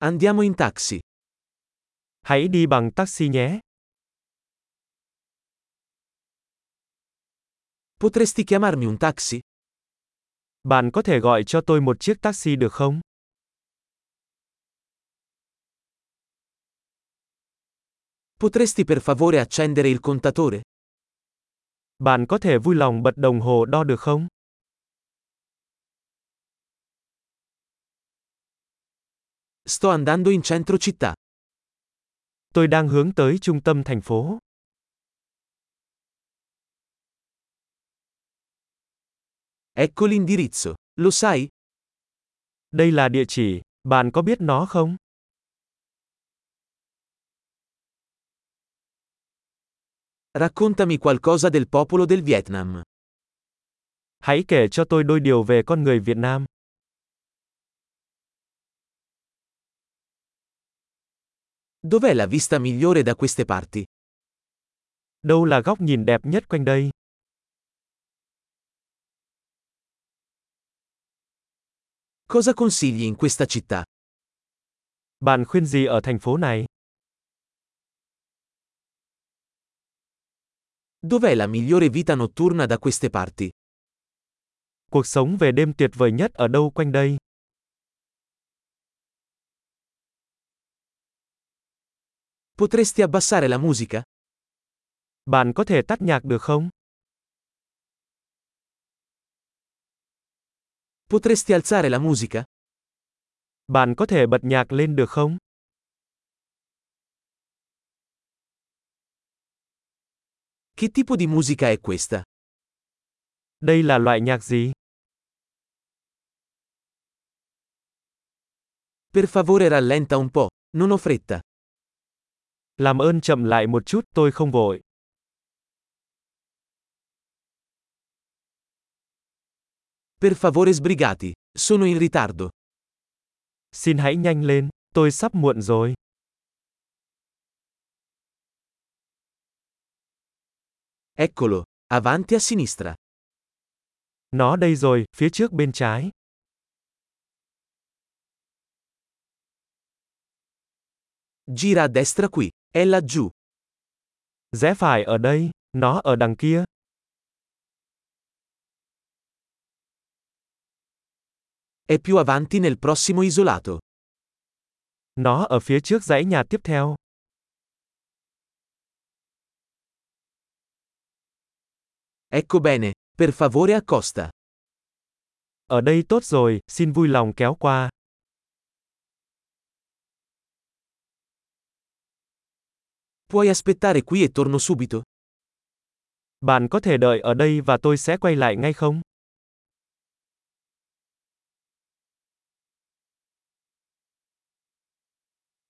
Andiamo in taxi. Hãy đi bằng taxi nhé. Potresti chiamarmi un taxi? Bạn có thể gọi cho tôi một chiếc taxi được không? Potresti per favore accendere il contatore? Bạn có thể vui lòng bật đồng hồ đo được không? Sto andando in centro città. Tôi đang hướng tới trung tâm thành phố. Ecco l'indirizzo. Lo sai? Đây là địa chỉ, bạn có biết nó không? Raccontami qualcosa del popolo del Vietnam. Hãy kể cho tôi đôi điều về con người Việt Nam. Dov'è la vista migliore da queste parti? Đâu là góc nhìn đẹp nhất quanh đây? Cosa consigli in questa città? Bạn khuyên gì ở thành phố này? Dov'è la migliore vita notturna da queste parti? Cuộc sống về đêm tuyệt vời nhất ở đâu quanh đây? Potresti abbassare la musica? Bạn có thể tắt nhạc được không? Potresti alzare la musica? Bạn có thể bật nhạc lên được không? Che tipo di musica è questa? Đây là loại nhạc gì? Per favore rallenta un po', non ho fretta. Làm ơn chậm lại một chút, tôi không vội. Per favore sbrigati, sono in ritardo. Xin hãy nhanh lên, tôi sắp muộn rồi. Eccolo, avanti a sinistra. Nó đây rồi, phía trước bên trái. Gira a destra qui, è laggiù. Rẽ phải ở đây, nó ở đằng kia. È più avanti nel prossimo isolato. Nó ở phía trước dãy nhà tiếp theo. Ecco bene, per favore accosta. Ở đây tốt rồi, xin vui lòng kéo qua. Puoi aspettare qui e torno subito? Bạn có thể đợi ở đây và tôi sẽ quay lại ngay không?